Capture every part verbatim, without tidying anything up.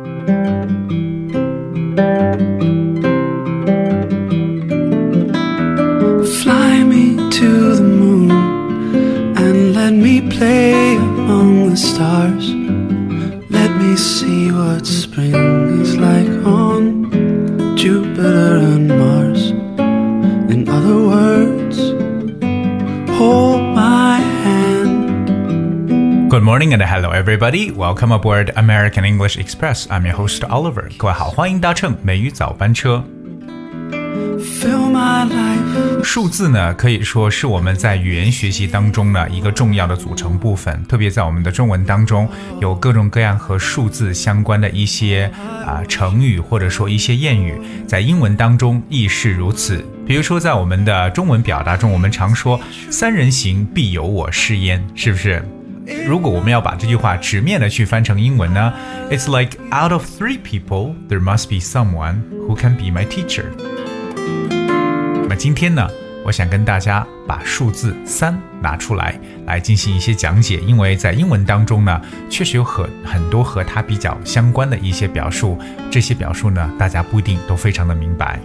Fly me to the moon and let me play among the stars. Let me see what spring is like on Jupiter and Mars. In other words, hold my hand. Good morning and hello everybody. Welcome aboard American English Express. I'm your host Oliver. 各位好，欢迎搭乘美语早班车。 Fill my life. 数字呢，可以说是我们在语言学习当中呢一个重要的组成部分，特别在我们的中文当中，有各种各样和数字相关的一些啊、呃、成语或者说一些谚语，在英文当中亦是如此。比如说在我们的中文表达中，我们常说三人行必有我师焉，是不是？如果我们要把这句话直面的去翻成英文呢 ，It's like out of three people, there must be someone who can be my teacher。那么今天呢，我想跟大家把数字三拿出来，来进行一些讲解，因为在英文当中呢，确实有很很多和它比较相关的一些表述，这些表述呢，大家不一定都非常的明白。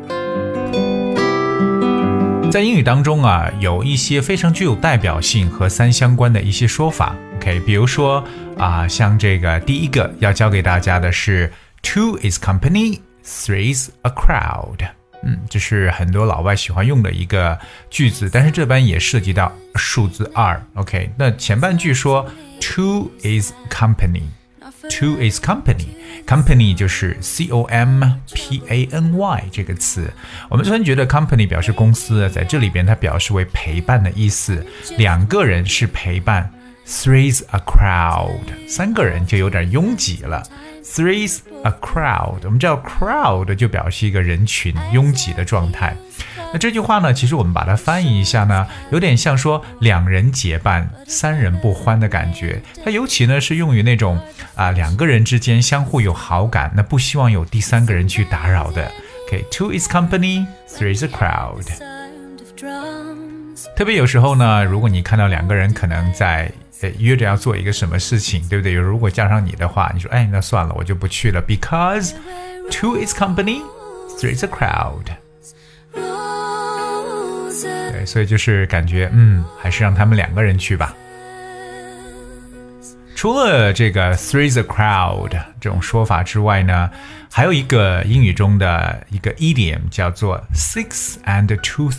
在英语当中啊，有一些非常具有代表性和三相关的一些说法 ，OK， 比如说啊，像这个第一个要教给大家的是 two is company, three's a crowd。嗯，这是很多老外喜欢用的一个句子，但是这边也涉及到数字二 ，OK？ 那前半句说 two is company。Two is company. Company 就是 C O M P A N Y 这个词。我们虽然觉得 company 表示公司，在这里边它表示为陪伴的意思。两个人是陪伴。Three's a crowd. 三个人就有点拥挤了。Three's a crowd. 我们知道 crowd 就表示一个人群拥挤的状态。那这句话呢，其实我们把它翻译一下呢，有点像说两人结伴，三人不欢的感觉。它尤其呢是用于那种啊、呃、两个人之间相互有好感，那不希望有第三个人去打扰的。Okay, two is company, three is a crowd. 特别有时候呢，如果你看到两个人可能在约着要做一个什么事情，对不对？如果加上你的话，你说哎，那算了，我就不去了。Because two is company, three is a crowd. 对，所以就是感觉嗯，还是让他们两个人去吧。除了这个 three is a crowd 这种说法之外呢，还有一个英语中的一个 idiom 叫做 six and two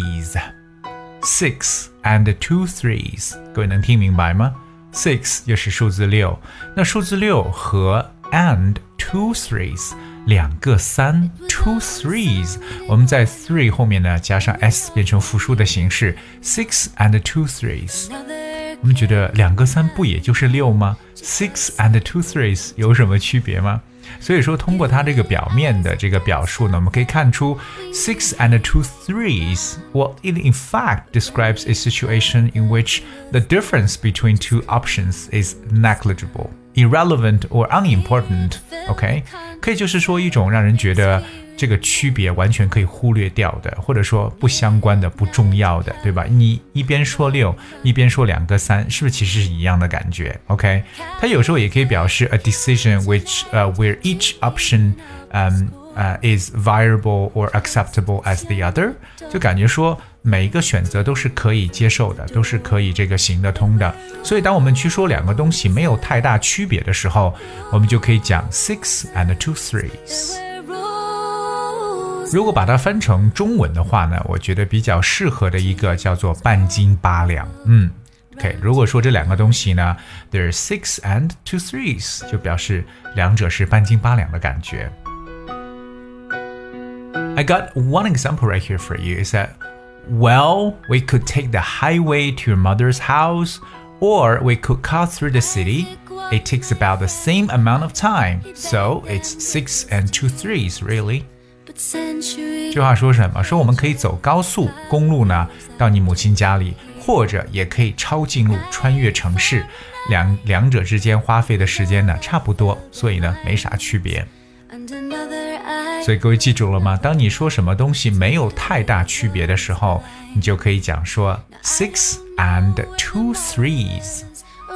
threes。Six and two threes， 各位能听明白吗 ？Six 又是数字六，那数字六和 and two threes 两个三 two threes， 我们在 three 后面呢加上 s 变成复数的形式 ，six and two threes。我们觉得两个三不也就是六吗 ？Six and two threes 有什么区别吗？所以说通过它这个表面的这个表述呢，我们可以看出 six and two threes, well, it in fact describes a situation in which the difference between two options is negligible, irrelevant or unimportant, OK? 可以就是说一种让人觉得这个区别完全可以忽略掉的，或者说不相关的、不重要的，对吧？你一边说六，一边说两个三，是不是其实是一样的感觉 ？OK？ 它有时候也可以表示 a decision which、uh, where each option um, uh, is viable or acceptable as the other， 就感觉说每一个选择都是可以接受的，都是可以这个行得通的。所以当我们去说两个东西没有太大区别的时候，我们就可以讲 six and two threes。如果把它翻成中文的话呢，我觉得比较适合的一个叫做半斤八两。嗯 ，OK， 如果说这两个东西呢 ，there's six and two threes， 就表示两者是半斤八两的感觉。I got one example right here for you. Is that well, we could take the highway to your mother's house, or we could cut through the city. It takes about the same amount of time, so it's six and two threes, really.这话说什么？说我们可以走高速公路呢，到你母亲家里，或者也可以抄近路穿越城市，两两者之间花费的时间呢差不多，所以呢没啥区别。所以各位记住了吗？当你说什么东西没有太大区别的时候，你就可以讲说 six and two threes。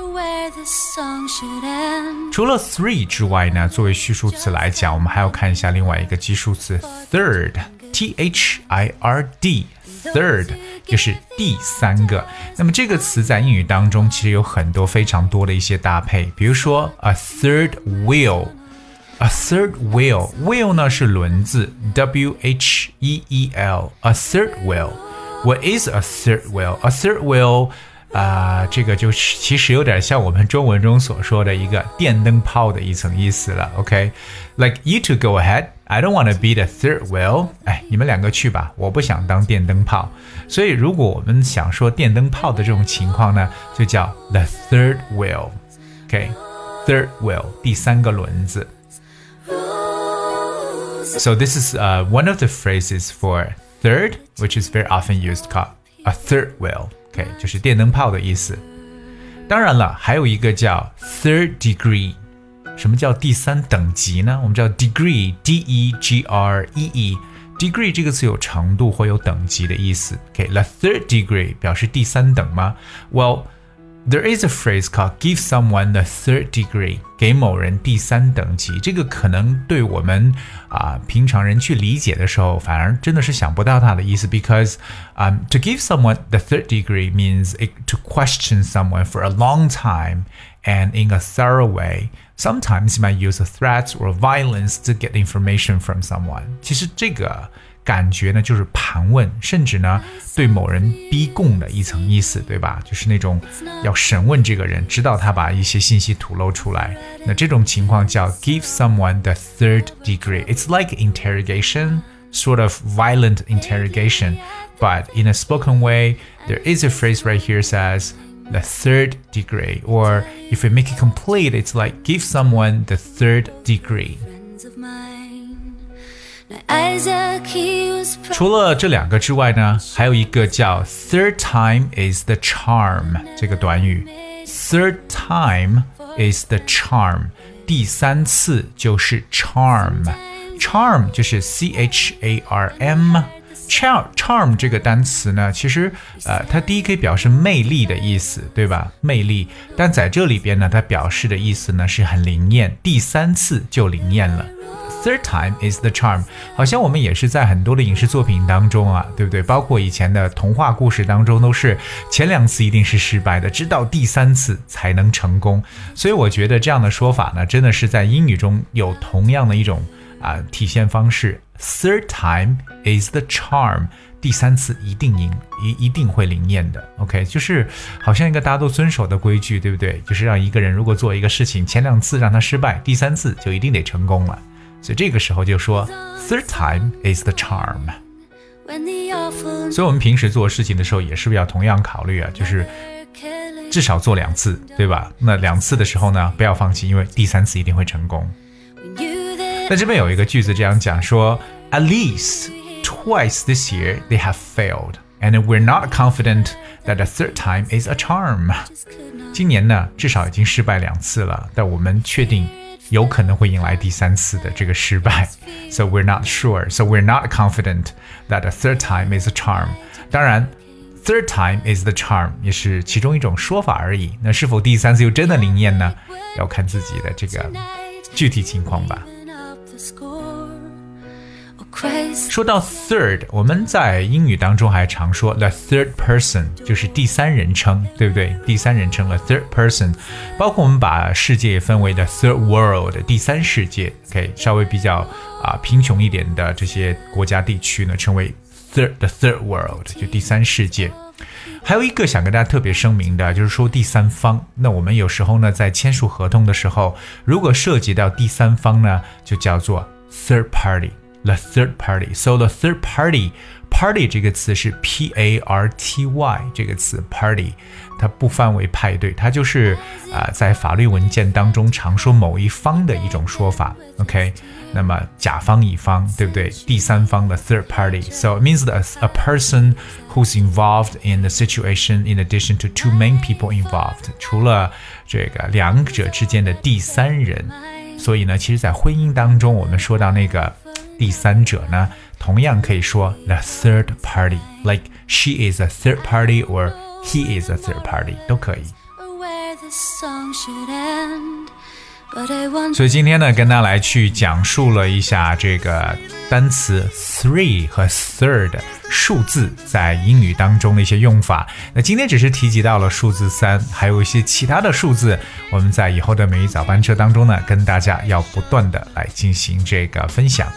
除了 three 之外呢，作为序数词来讲，我们还要看一下另外一个基数词 third T H I R D third 就是第三个。那么这个词在英语当中其实有很多非常多的一些搭配，比如说 a third wheel A third wheel wheel 呢是轮子 W H E E L A third wheel What is a third wheel? A third wheel 啊、呃，这个就其实有点像我们中文中所说的一个电灯泡的一层意思了 OK Like you two go ahead I don't want to be the third wheel 哎，你们两个去吧，我不想当电灯泡。所以如果我们想说电灯泡的这种情况呢，就叫 the third wheel OK Third wheel 第三个轮子。So this is uh, one of the phrases for third, which is very often used called a third wheel. Okay, 就是电灯泡的意思。当然了，还有一个叫 third degree。什么叫第三等级呢？我们叫 degree, D E G R E E。degree 这个词有程度或有等级的意思。Okay, the third degree 表示第三等吗？ Well,There is a phrase called give someone the third degree 给某人第三等级这个可能对我们啊、呃、平常人去理解的时候反而真的是想不到它的意思 because um, to give someone the third degree means it, to question someone for a long time and in a thorough way sometimes you might use threats or violence to get information from someone 其实这个感觉呢就是盘问甚至呢对某人逼供的一层意思对吧就是那种要审问这个人直到他把一些信息吐露出来那这种情况叫 give someone the third degree It's like interrogation sort of violent interrogation but in a spoken way there is a phrase right here says the third degree or if we make it complete it's like give someone the third degree除了这两个之外呢还有一个叫 third time is the charm 这个短语 third time is the charm 第三次就是 charm charm 就是 C H A R M charm, charm 这个单词呢其实呃，它第一可以表示魅力的意思对吧魅力但在这里边呢它表示的意思呢是很灵验第三次就灵验了Third time is the charm 好像我们也是在很多的影视作品当中啊对不对包括以前的童话故事当中都是前两次一定是失败的直到第三次才能成功所以我觉得这样的说法呢真的是在英语中有同样的一种啊、呃、体现方式 Third time is the charm 第三次一定赢一一定会灵验的 OK 就是好像一个大家都遵守的规矩对不对就是让一个人如果做一个事情前两次让他失败第三次就一定得成功了所以这个时候就说 Third time is the charm 所以我们平时做事情的时候也是不是要同样考虑啊就是至少做两次对吧那两次的时候呢不要放弃因为第三次一定会成功那这边有一个句子这样讲说 At least twice this year they have failed and we're not confident that the third time is a charm 今年呢至少已经失败两次了但我们确定有可能会迎来第三次的这个失败 So we're not sure So we're not confident that the third time is a charm 当然 Third time is the charm 也是其中一种说法而已那是否第三次又真的灵验呢要看自己的这个具体情况吧说到 third 我们在英语当中还常说 the third person 就是第三人称对不对第三人称 the third person 包括我们把世界也分为 the third world 第三世界 OK 稍微比较、呃、贫穷一点的这些国家地区呢称为 third, the third world 就第三世界还有一个想跟大家特别声明的就是说第三方那我们有时候呢在签署合同的时候如果涉及到第三方呢就叫做 third party The third party. So the third party, party 这个词是 P A R T Y 这个词 party 它不分为派对它就是、呃、在法律文件当中常说某一方的一种说法 OK 那么甲方乙方对不对第三方的 third party So it means that a person who's involved in the situation in addition to two main people involved 除了这个两者之间的第三人所以呢其实在婚姻当中我们说到那个第三者呢同样可以说 the third party like she is a third party or he is a third party 都可以所以今天呢，跟大家来去讲述了一下这个单词 three 和 third 数字在英语当中的一些用法。那今天只是提及到了数字三，还有一些其他的数字，我们在以后的每一早班车当中呢，跟大家要不断的来进行这个分享。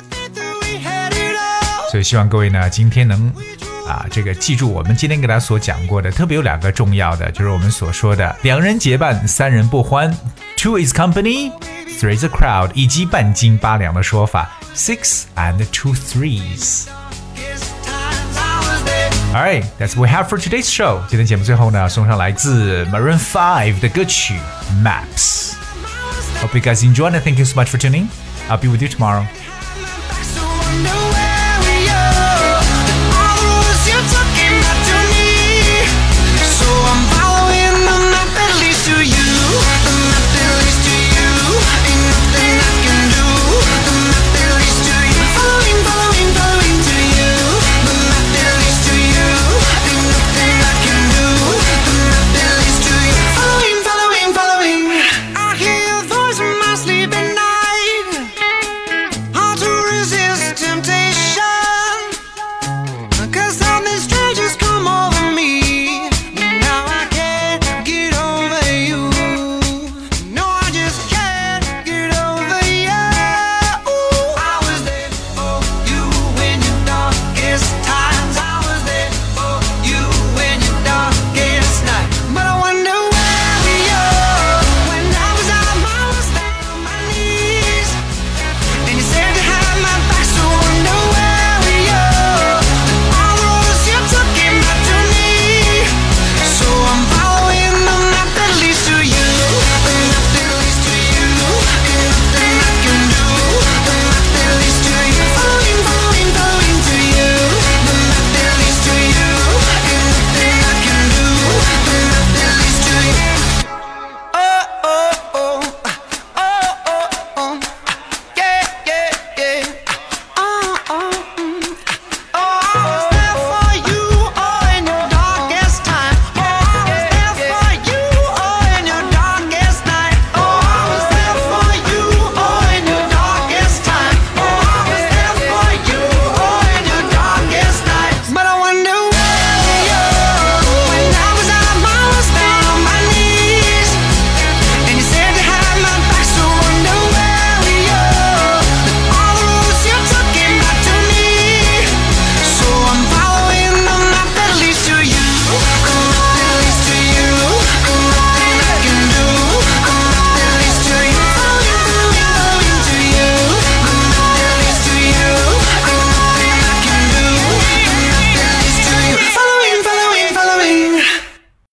所以希望各位呢，今天能啊，这个记住我们今天给大家所讲过的，特别有两个重要的，就是我们所说的两人结伴，三人不欢 two is company, three is a crowd 以及半斤八两的说法 six and two threes. Alright, that's what we have for today's show. 今天节目最后呢，送上来自 Maroon five 的歌曲 Maps. Hope you guys enjoyed and thank you so much for tuning. I'll be with you tomorrow.